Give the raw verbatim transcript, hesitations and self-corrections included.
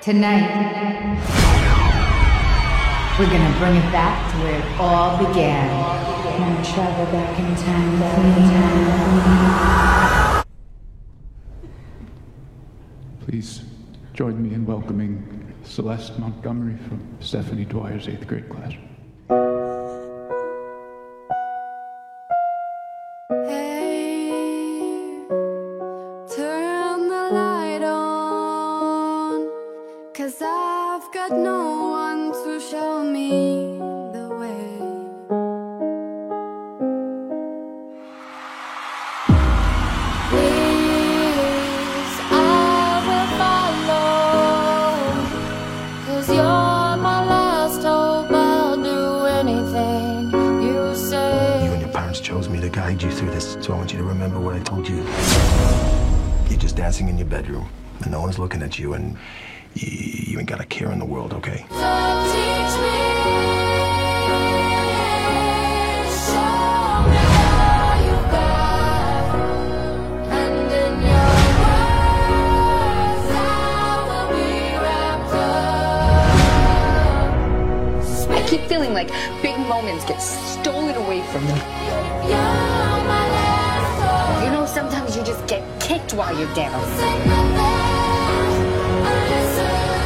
Tonight, we're gonna bring it back to where it all began. Now travel back in time, back in time. Please join me in welcoming Celeste Montgomery from Stephanie Dwyer's eighth grade class. Hey, turn the light on, 'cause I've got no one to show me the way. Please, I will follow, 'cause you're my last hope. I'll do anything you say. You and your parents chose me to guide you through this, so I want you to remember what I told you. You're just dancing in your bedroom, and no one's looking at you, and you, you ain't got a care in the world, okay? So teach me, show me how you got, and in your words I will be wrapped up. I keep feeling like big moments get stolen away from me. You're my last hope. You know, sometimes you just get kicked while you're down. Sing my last, I listen.